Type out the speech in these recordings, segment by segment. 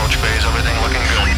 launch phase, everything looking good.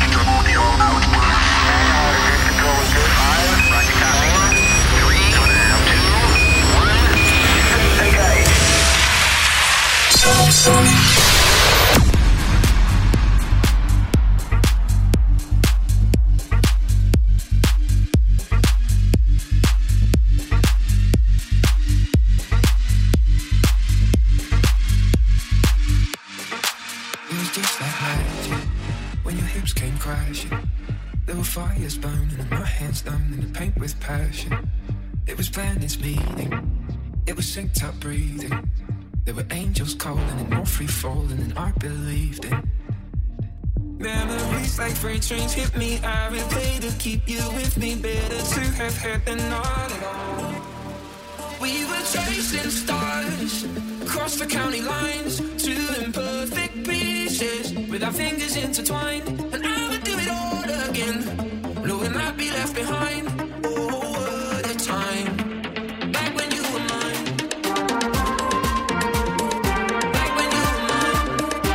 Fires burning and my hands done in the paint with passion. It was planets meeting, it was synced up breathing. There were angels calling and more free falling and I believed in. Memories like freight trains hit me, I replay to keep you with me. Better to have had than not at all. We were chasing stars across the county lines, two imperfect pieces with our fingers intertwined. And I would do it all again, knowing I'd be left behind. Oh, what a time, back when you were mine. Back when you were mine.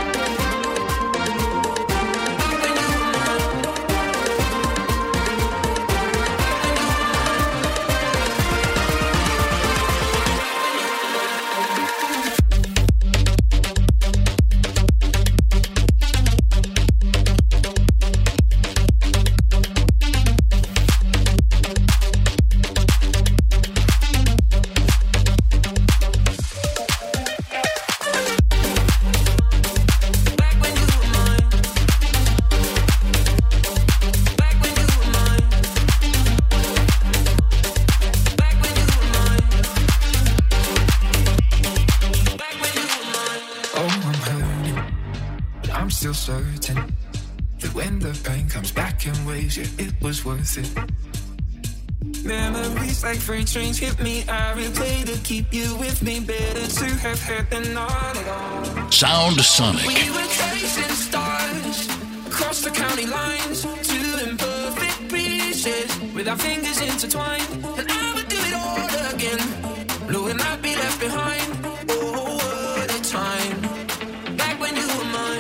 Back when you were mine. Certain that when the pain comes back in waves, yeah, it was worth it. Memories like freight trains hit me, I replay to keep you with me. Better to have had than not at all. Sound Sonic. We were chasing stars across the county lines, two imperfect pieces with our fingers intertwined. And I would do it all again, knowing I'd be left behind. Oh, what a time, back when you were mine.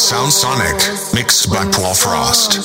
Sound Sonic, mixed by Paul Frost.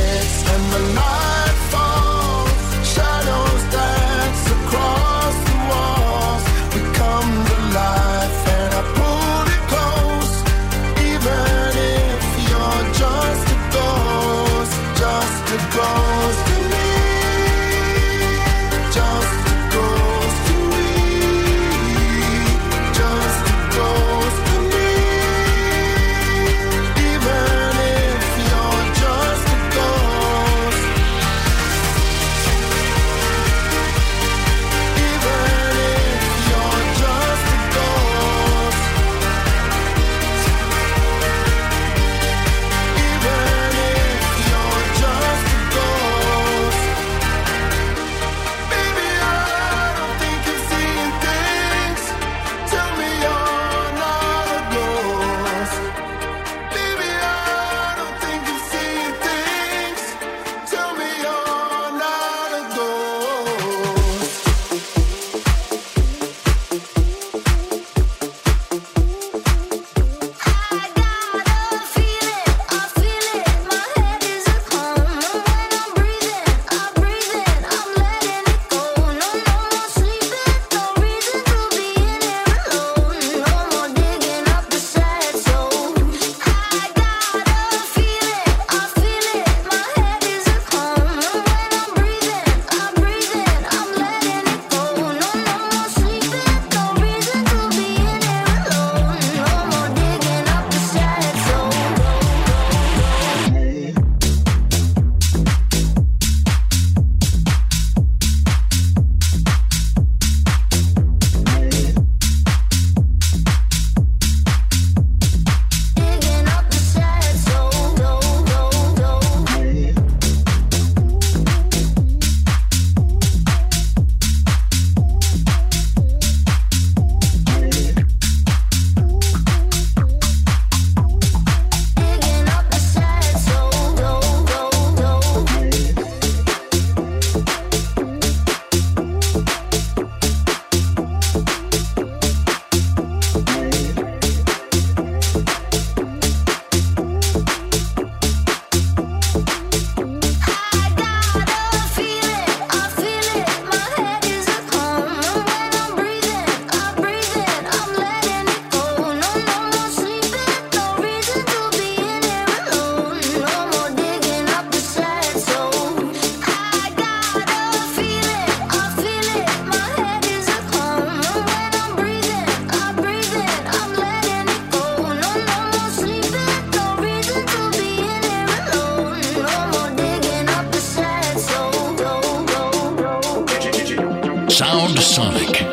Sound Sonic.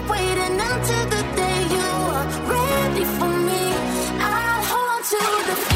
Until the day you are ready for me, I'll hold to the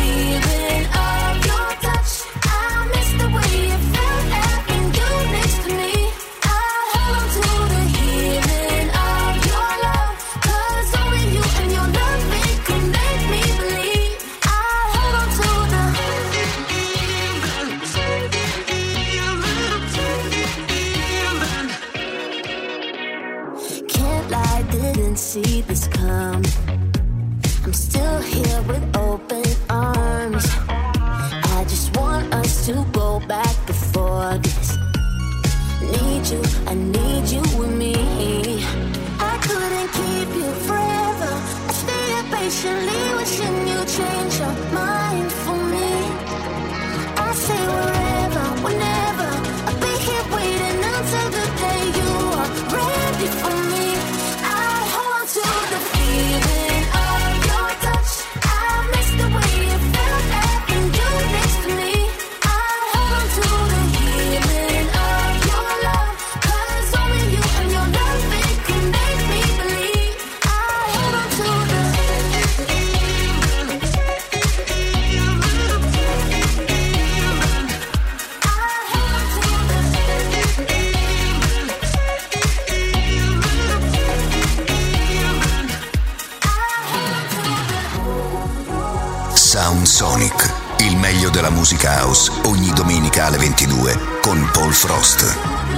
see this come. I'm still here with open arms. I just want us to go back before this. Need you, I need you with me. I couldn't keep you forever. I stayed patiently wishing you change your mind for me. I say wherever, whenever, I'll be here waiting until the day you are ready for me. I hold to the feeling of your touch. I miss the way it felt having you next to me. I hold to the feeling of your love, 'cause only you and your love, it can make me believe. I hold on to the Sound Sonic, il meglio della musica house, ogni domenica alle 22 con Paul Frost.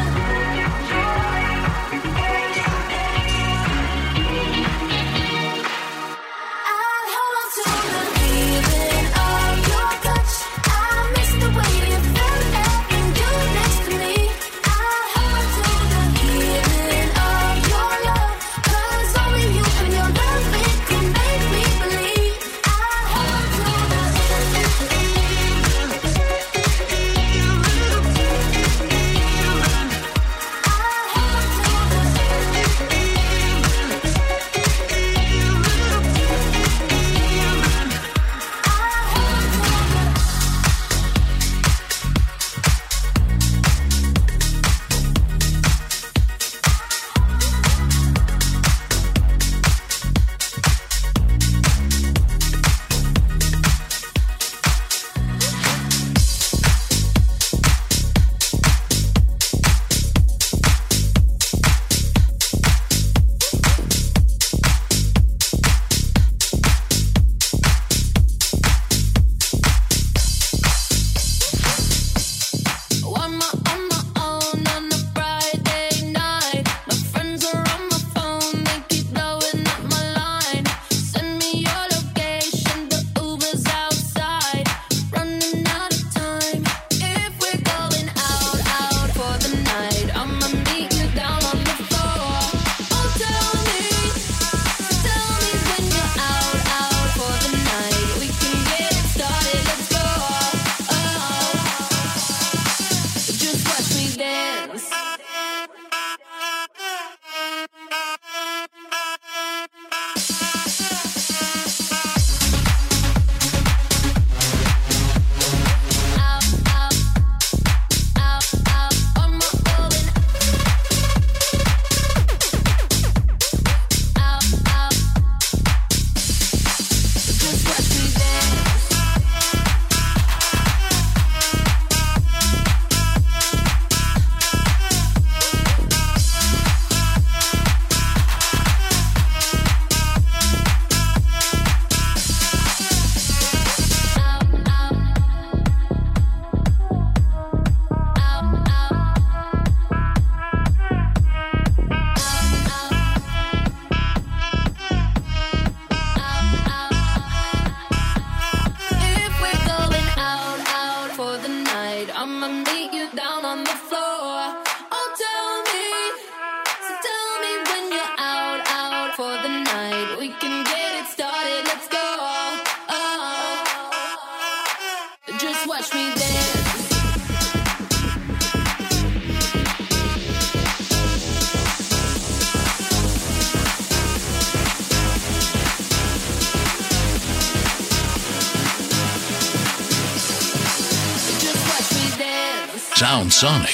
Sound Sonic.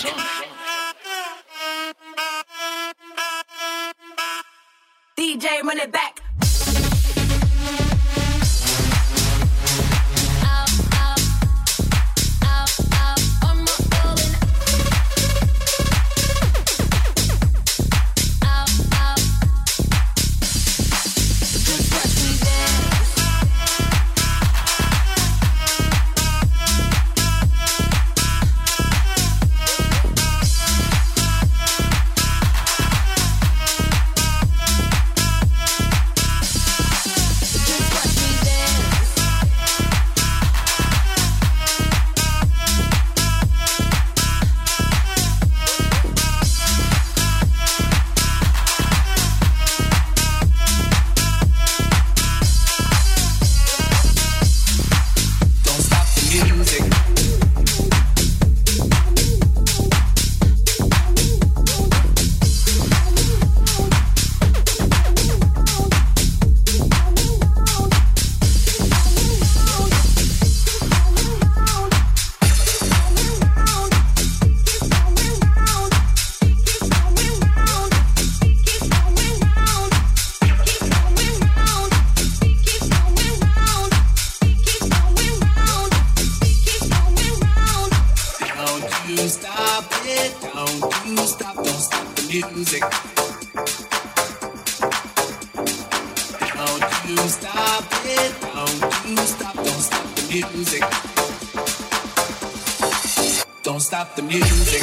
DJ, run it back. you stop it, don't you stop the music. Don't stop the music.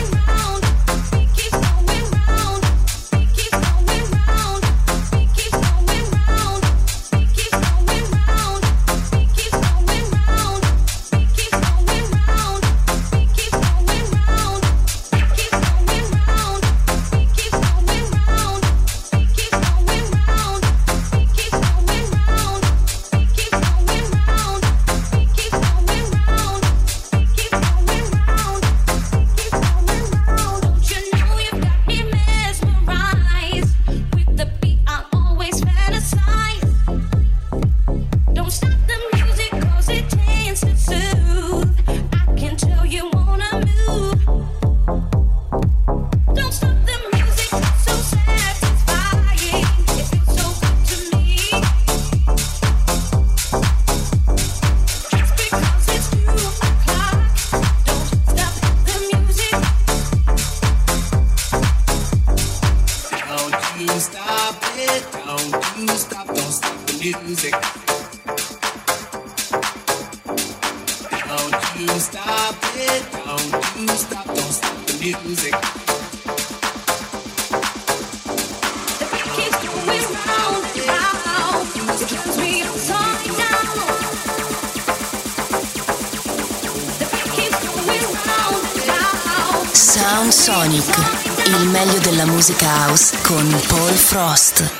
Sound Sonic, il meglio della musica house con Paul Frost.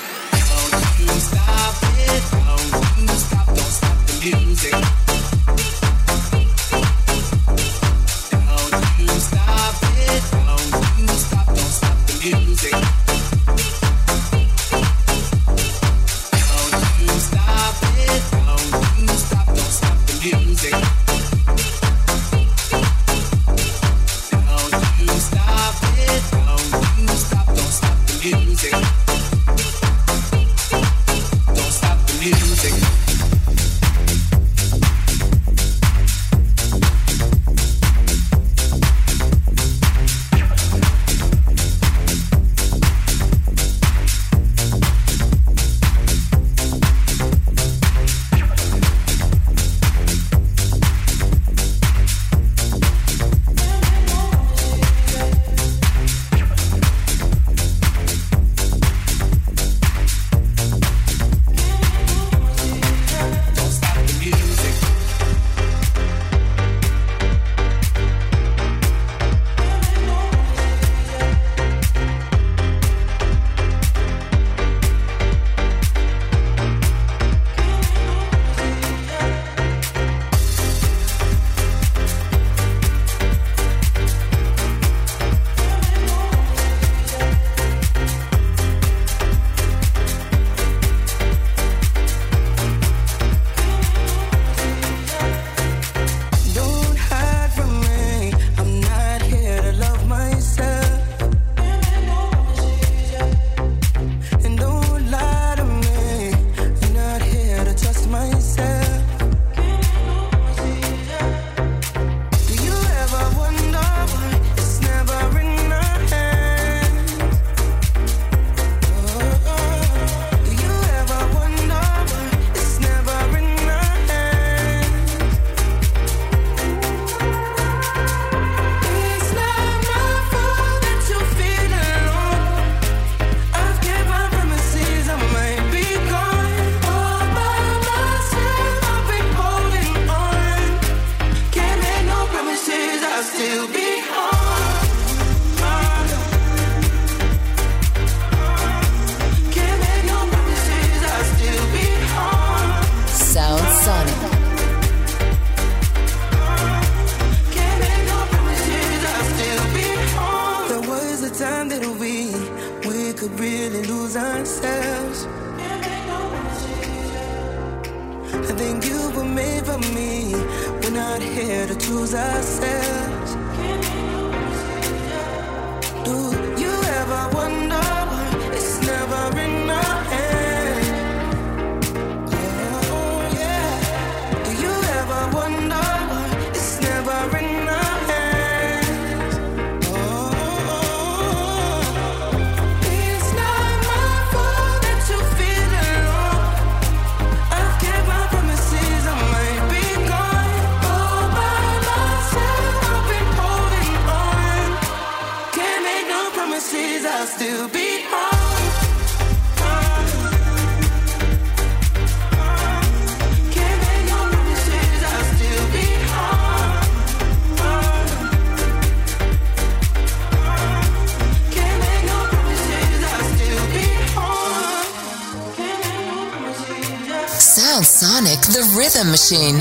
Sound Sonic, the rhythm machine.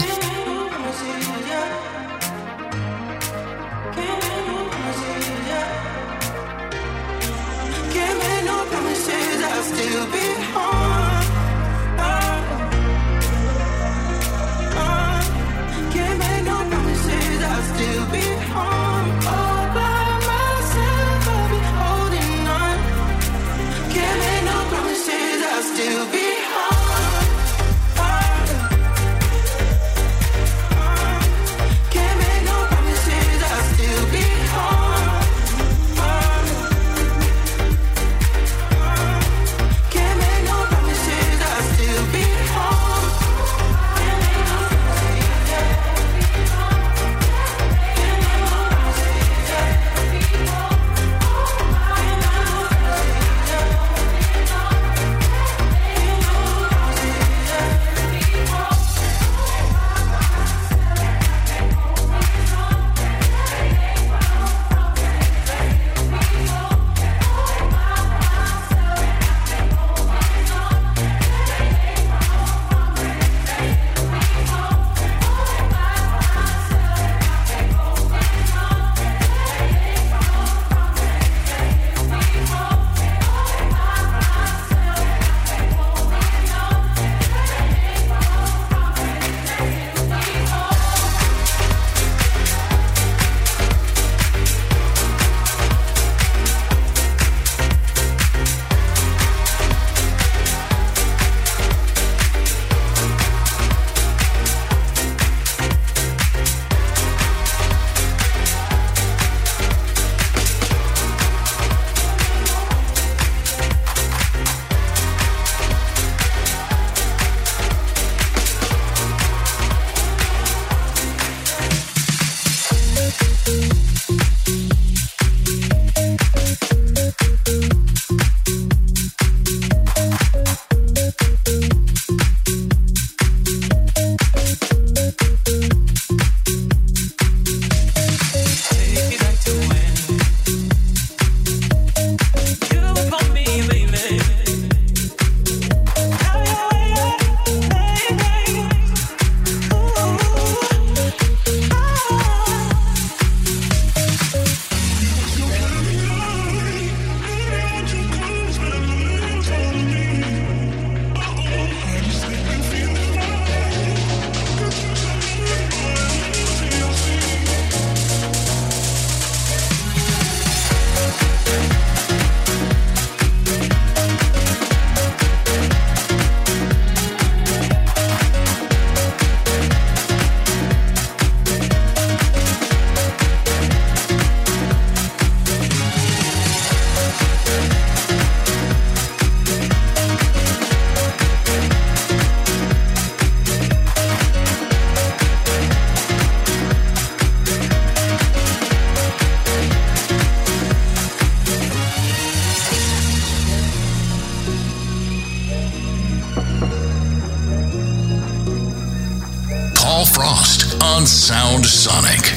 Frost on Sound Sonic.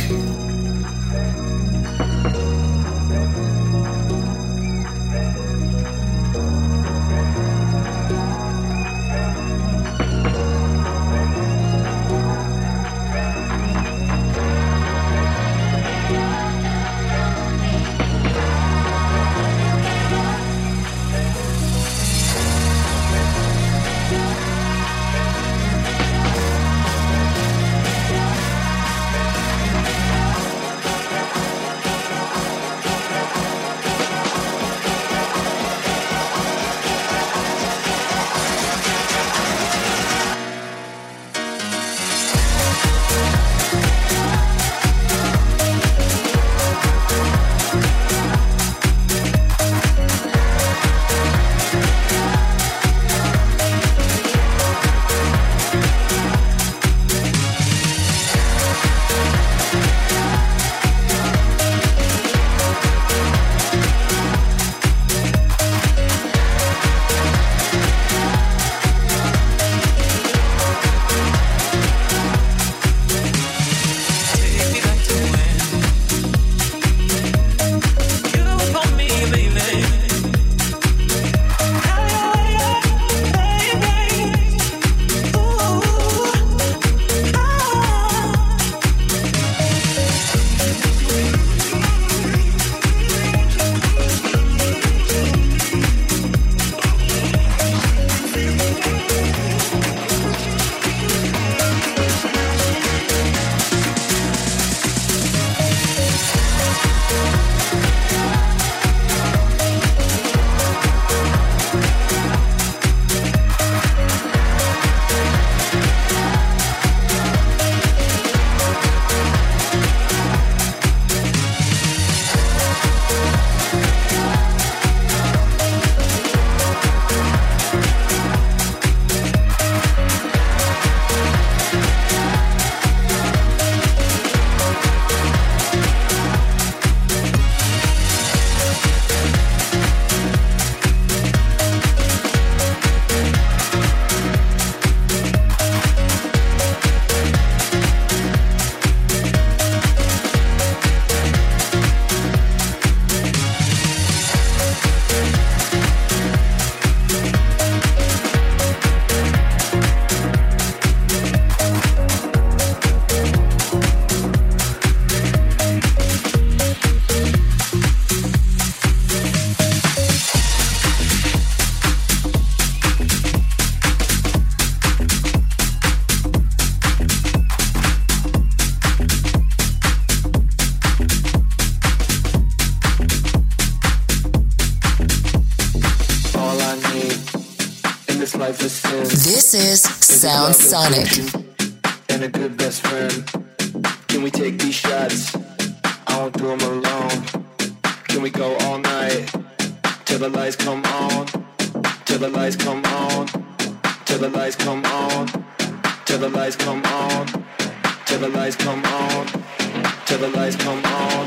This is Sound Sonic. And a good best friend. Can we take these shots? I won't do them alone. Can we go all night till the lights come on? Till the lights come on. Till the lights come on. Till the lights come on. Till the lights come on. Till the lights come on.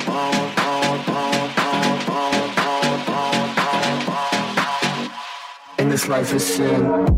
And this life is sin.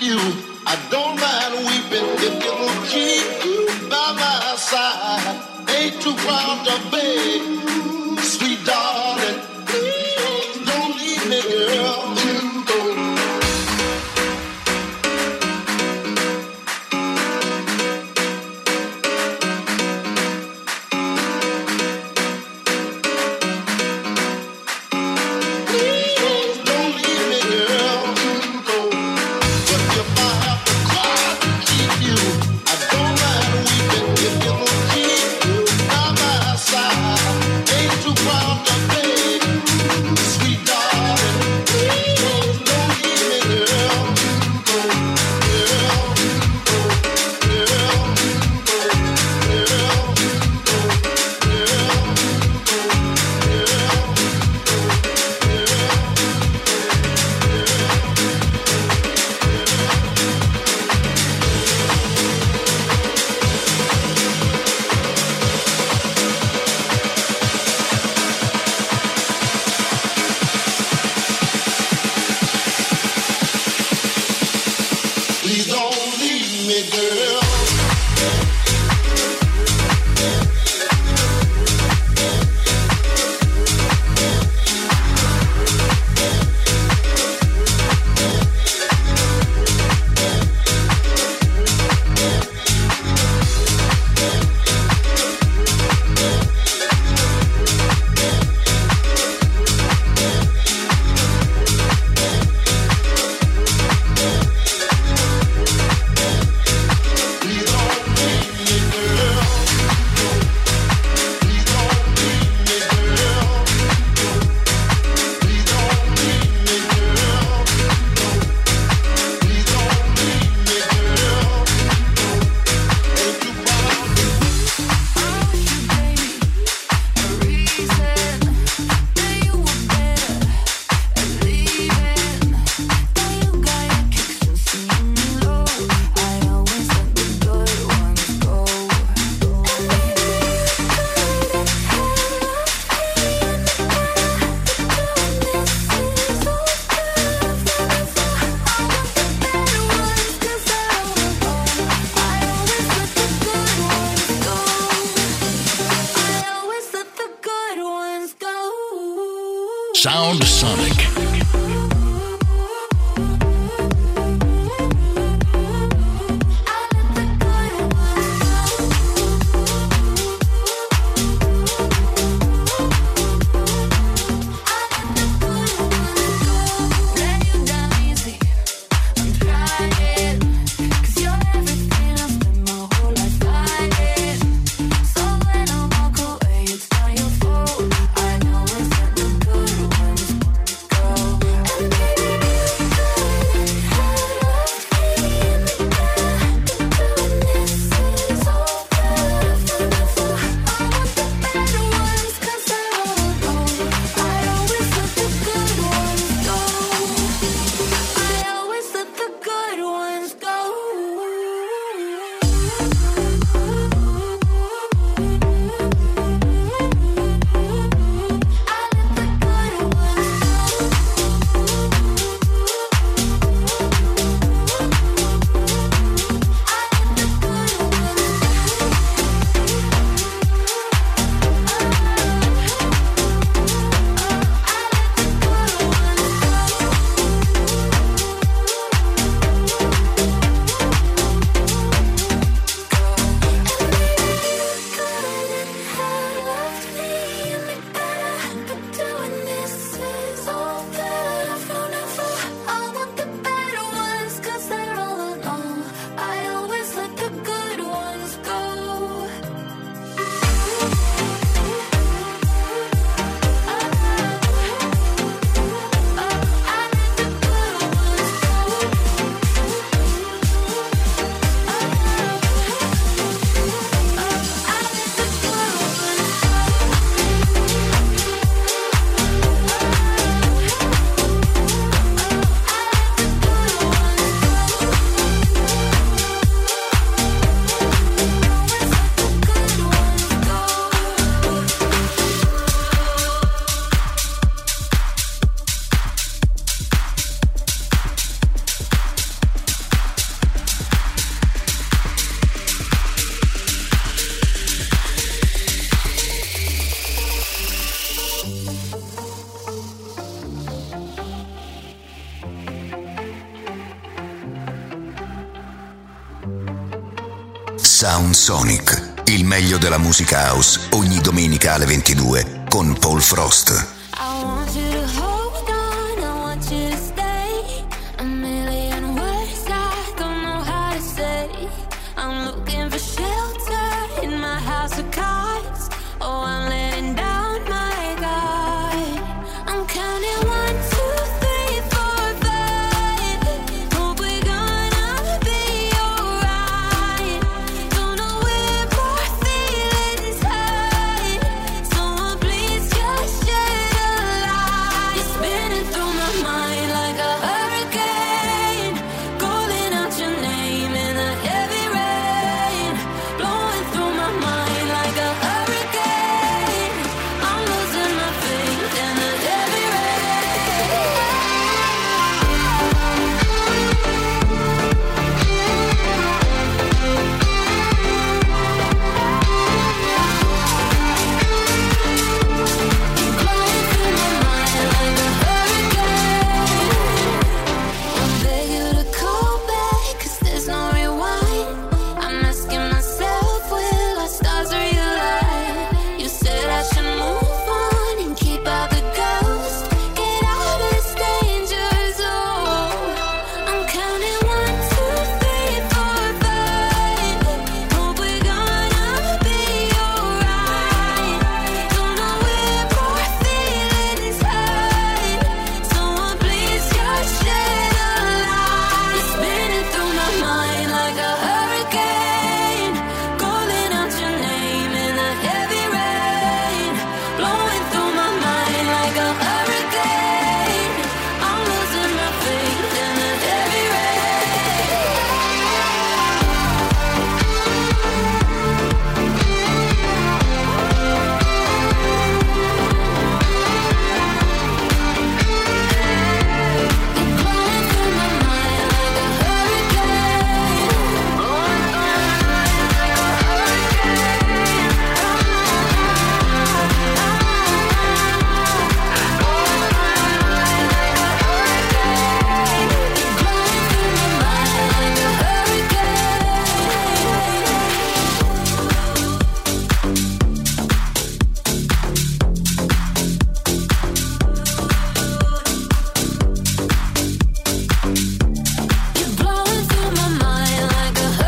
you. I don't mind weeping if you will keep you by my side. Ain't too proud to beg, sweet darling. Please don't leave me, girl. Sound Sonic. I know it's not the good ones go. Sound Sonic, il meglio della musica house, ogni domenica alle 22 con Paul Frost. I want you to hold on, I want you to stay. A million words I don't know how to say. I'm looking for shelter in my house of cards. Oh, I'm letting down my guard. I'm counting 1, 2, 3, 4, 5. Hope we're gonna be alright. Don't know where my feelings hide. Someone please just shed a light. You're spinning through my mind like a hurricane, calling out your name in the heavy rain, blowing through my mind like a hurricane. I'm losing my faith in the heavy I beg you to call back, 'cause there's no rewind. I'm asking myself, will our stars realign? You said I should move on and keep out the ghosts, get out of this danger zone. I'm counting 1, 2, 3, 4, 5. Hope we're gonna be alright. Don't know where my feelings hide. Someone please just shed a light. You're spinning through my mind like a hurricane, calling out your name in the heavy rain, blowing through my mind like a hurricane. I'm losing my faith in the heavy You're blowing through my mind like a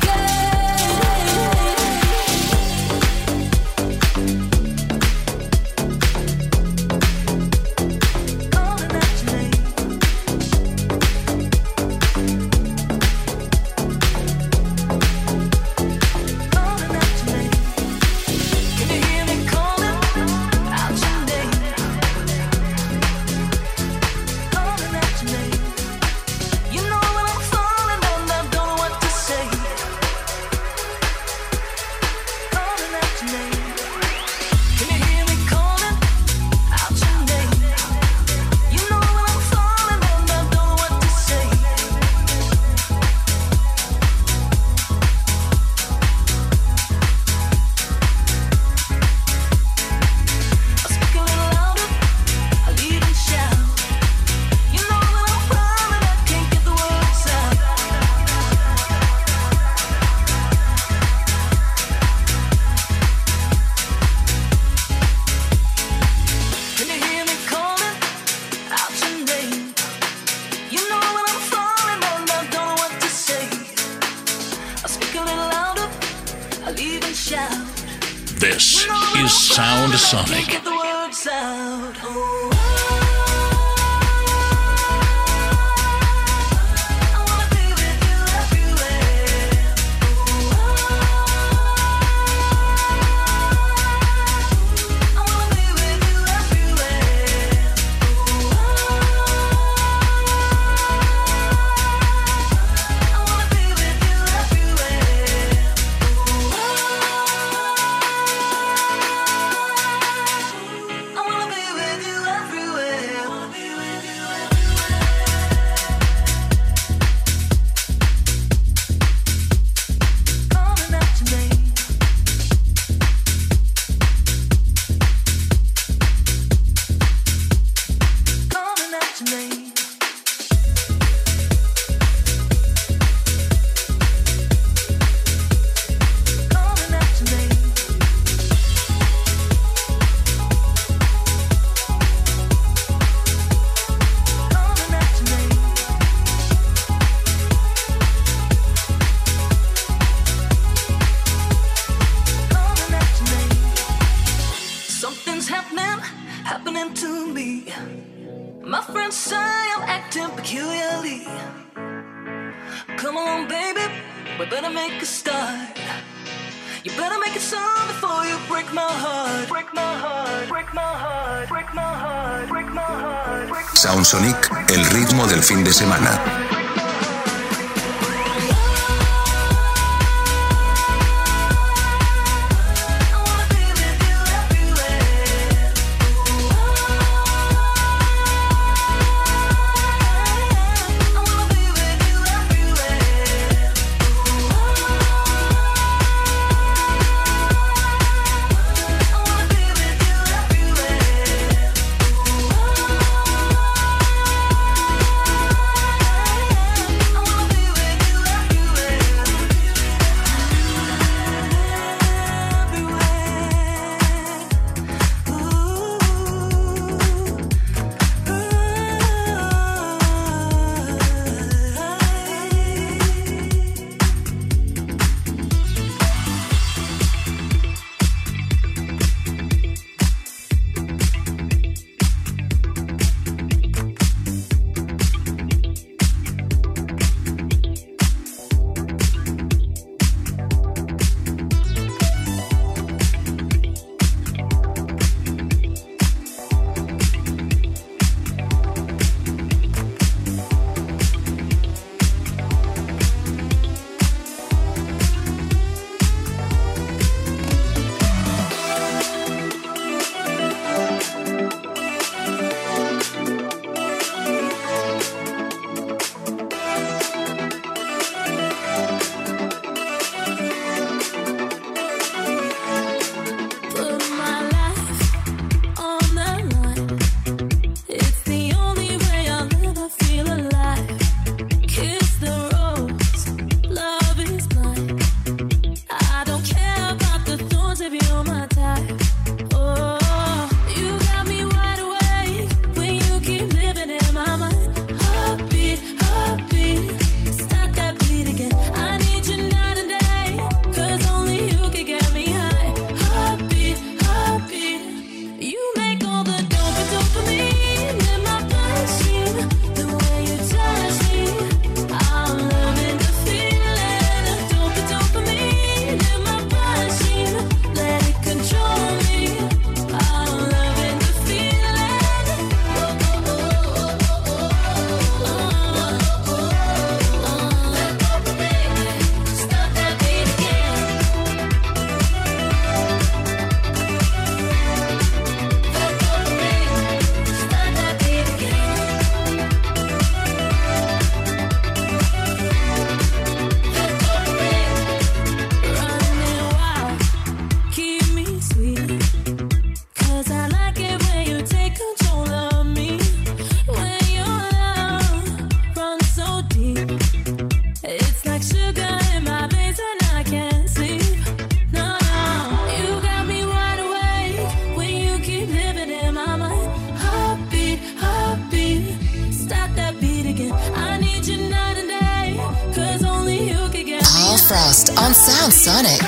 This is Sound Sonic. happening to me. My friends say I'm acting peculiarly. Come on, baby, we better make a start. You better make it sound before you break my heart. Break my heart, break my heart, break my heart, break my heart. Sound Sonic, el ritmo del fin de semana. Frost on Sound Sonic.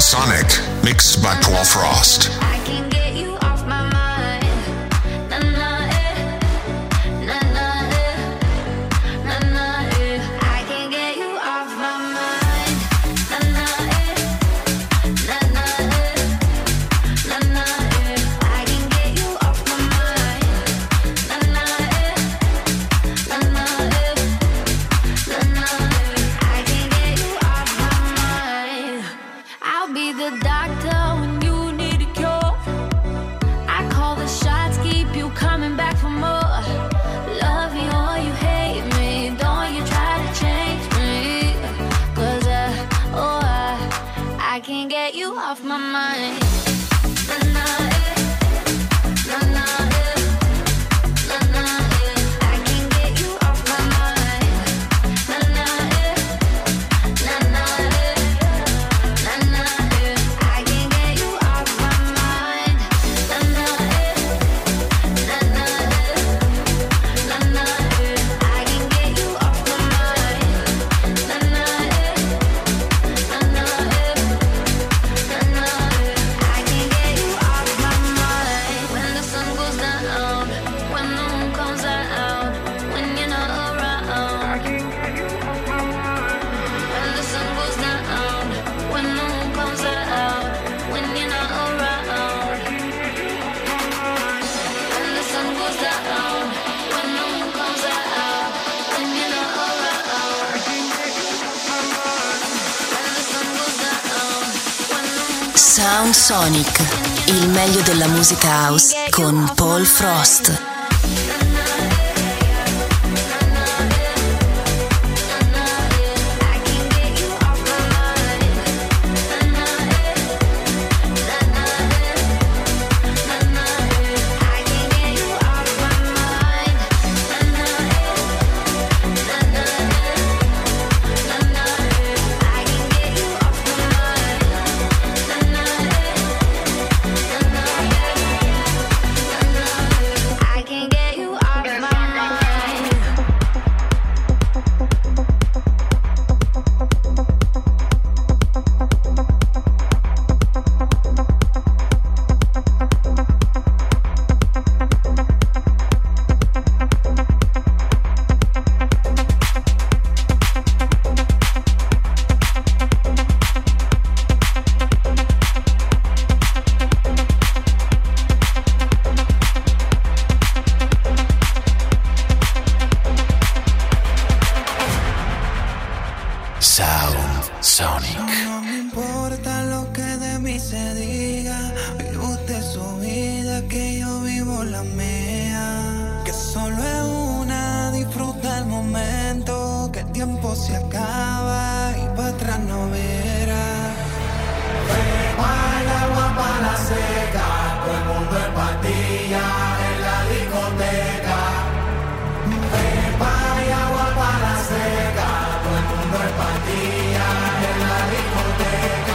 Sonic, mixed by Paul Frost. I can get you off my mind. Na na na na na na. I can get you off my mind. Na na na na na na. I can get you off my mind. Na na na na na. I can get you off my mind. I'll be the doctor when you need a cure. I call the shots, keep you coming back for more. Love me or you hate me, don't you try to change me. 'Cause I can't get you off my mind. Na na na na na na. I can't get you off my mind. Na na na na na na. I can't get you off my mind. Na na na na na na. I can get you off my mind. Na na na na na. I can get you off my mind. When the sun goes down, when the moon comes out, when you're not around. I can get you off my mind. When the sun goes down, when the moon comes out, when you're not around. When the sun goes down, when the moon comes out, when you're not around. When the sun goes down, when the moon. Sound Sonic, il meglio della musica house con Paul Frost. I can get you off my mind. Sound Sonic. No me importa lo que de mí se diga. Vive usted su vida, que yo vivo la mía. Que solo es una, disfruta el momento. Que el tiempo se acaba y para atrás no verá. Hay agua para la seca, todo el mundo en pastilla en la discoteca. Hay agua para la seca, todo el mundo en pastilla en la discoteca.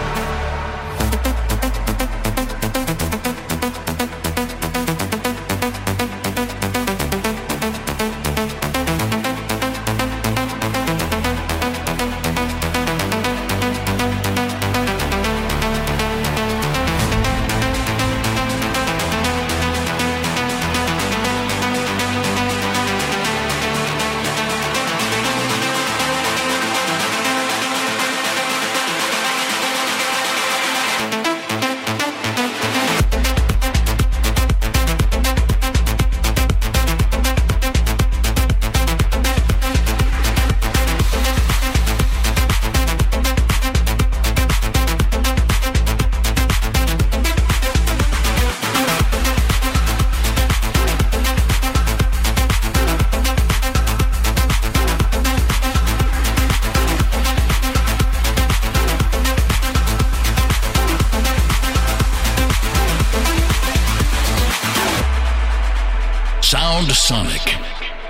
Sound Sonic.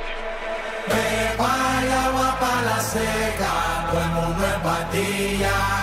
Hay agua para la seca, todo el mundo en pastilla